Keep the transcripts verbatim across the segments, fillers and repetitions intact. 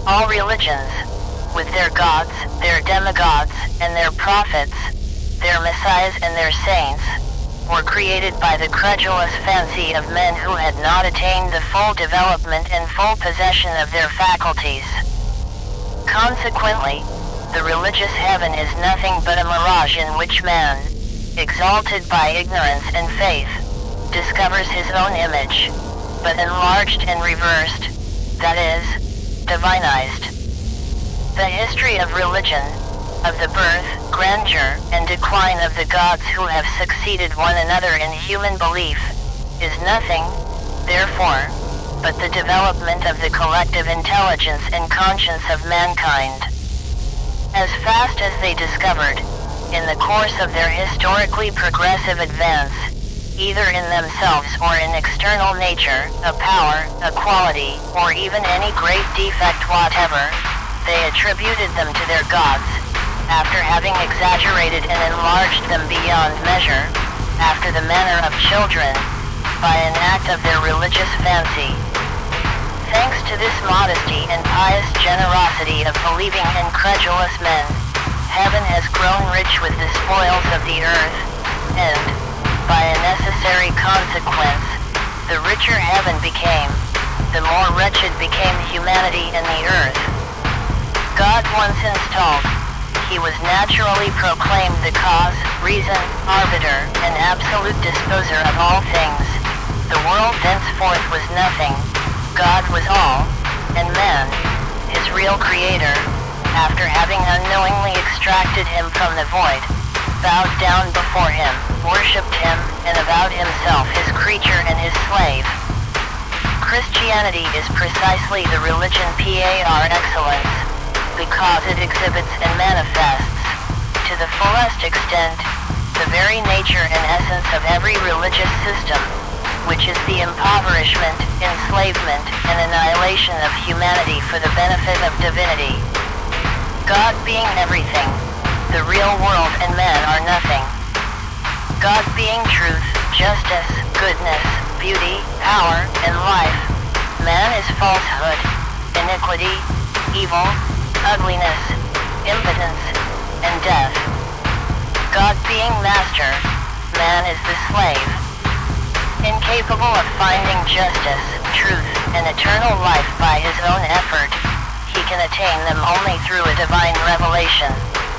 All religions, with their gods, their demigods, and their prophets, their messiahs and their saints, were created by the credulous fancy of men who had not attained the full development and full possession of their faculties. Consequently, the religious heaven is nothing but a mirage in which man, exalted by ignorance and faith, discovers his own image, but enlarged and reversed, that is, divinized. The history of religion, of the birth, grandeur, and decline of the gods who have succeeded one another in human belief, is nothing, therefore, but the development of the collective intelligence and conscience of mankind. As fast as they discovered, in the course of their historically progressive advance, either in themselves or in external nature, a power, a quality, or even any great defect whatever, they attributed them to their gods, after having exaggerated and enlarged them beyond measure, after the manner of children, by an act of their religious fancy. Thanks to this modesty and pious generosity of believing and credulous men, heaven has grown rich with the spoils of the earth, and, by a necessary consequence, the richer heaven became, the more wretched became humanity and the earth. God once installed, he was naturally proclaimed the cause, reason, arbiter, and absolute disposer of all things. The world thenceforth was nothing, God was all, and man, his real creator, after having unknowingly extracted him from the void, bowed down before him, worshipped him, and avowed himself his creature and his slave. Christianity is precisely the religion par excellence, because it exhibits and manifests, to the fullest extent, the very nature and essence of every religious system, which is the impoverishment, enslavement, and annihilation of humanity for the benefit of divinity. God being everything, the real world and man are nothing. God being truth, justice, goodness, beauty, power, and life, man is falsehood, iniquity, evil, ugliness, impotence, and death. God being master, man is the slave. Incapable of finding justice, truth, and eternal life by his own effort, he can attain them only through a divine revelation.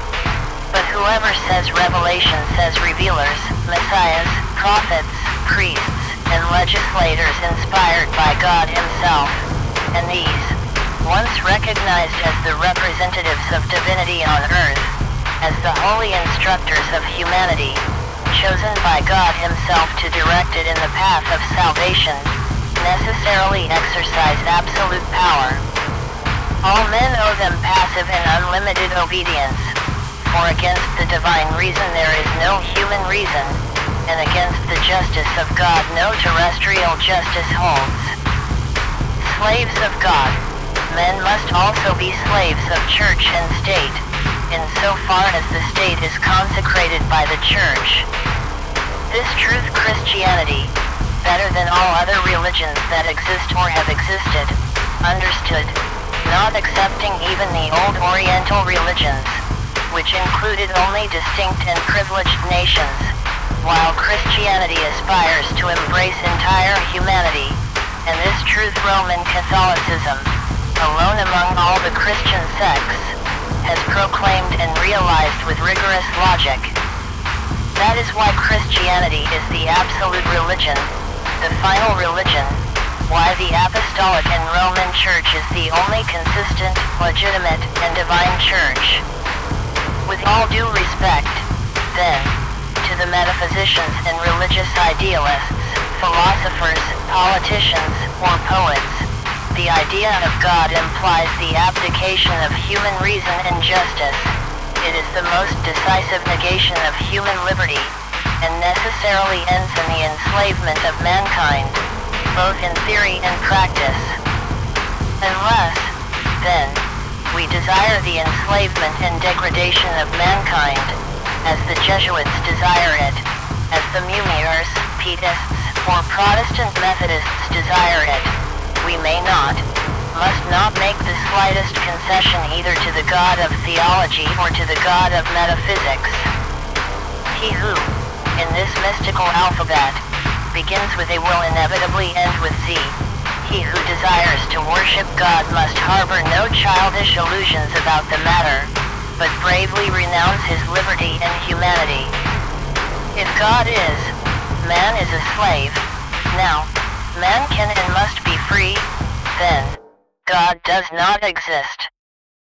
But whoever says revelation says revealers, messiahs, prophets, priests, and legislators inspired by God himself, and these, once recognized as the representatives of divinity on earth, as the holy instructors of humanity, chosen by God himself to direct it in the path of salvation, necessarily exercise absolute power. All men owe them passive and unlimited obedience, for against the divine reason there is no human reason, and against the justice of God no terrestrial justice holds. Slaves of God, men must also be slaves of church and state, in so far as the state is consecrated by the church. This truth Christianity, better than all other religions that exist or have existed, understood, not excepting even the old Oriental religions, which included only distinct and privileged nations, while Christianity aspires to embrace entire humanity, and this truth Roman Catholicism, alone among all the Christian sects, has proclaimed and realized with rigorous logic. That is why Christianity is the absolute religion, the final religion, why the Apostolic and Roman Church is the only consistent, legitimate, and divine church. With all due respect, then, to the metaphysicians and religious idealists, philosophers, politicians, or poets, the idea of God implies the abdication of human reason and justice. It is the most decisive negation of human liberty, and necessarily ends in the enslavement of mankind, both in theory and practice. Unless, then, we desire the enslavement and degradation of mankind, as the Jesuits desire it, as the Mumiers, Pietists, or Protestant Methodists desire it, we may not, must not make the slightest concession either to the God of theology or to the God of metaphysics. He who, in this mystical alphabet, begins with A will inevitably end with Z. He who desires to worship God must harbor no childish illusions about the matter, but bravely renounce his liberty and humanity. If God is, man is a slave. Now, man can and must be free, then God does not exist.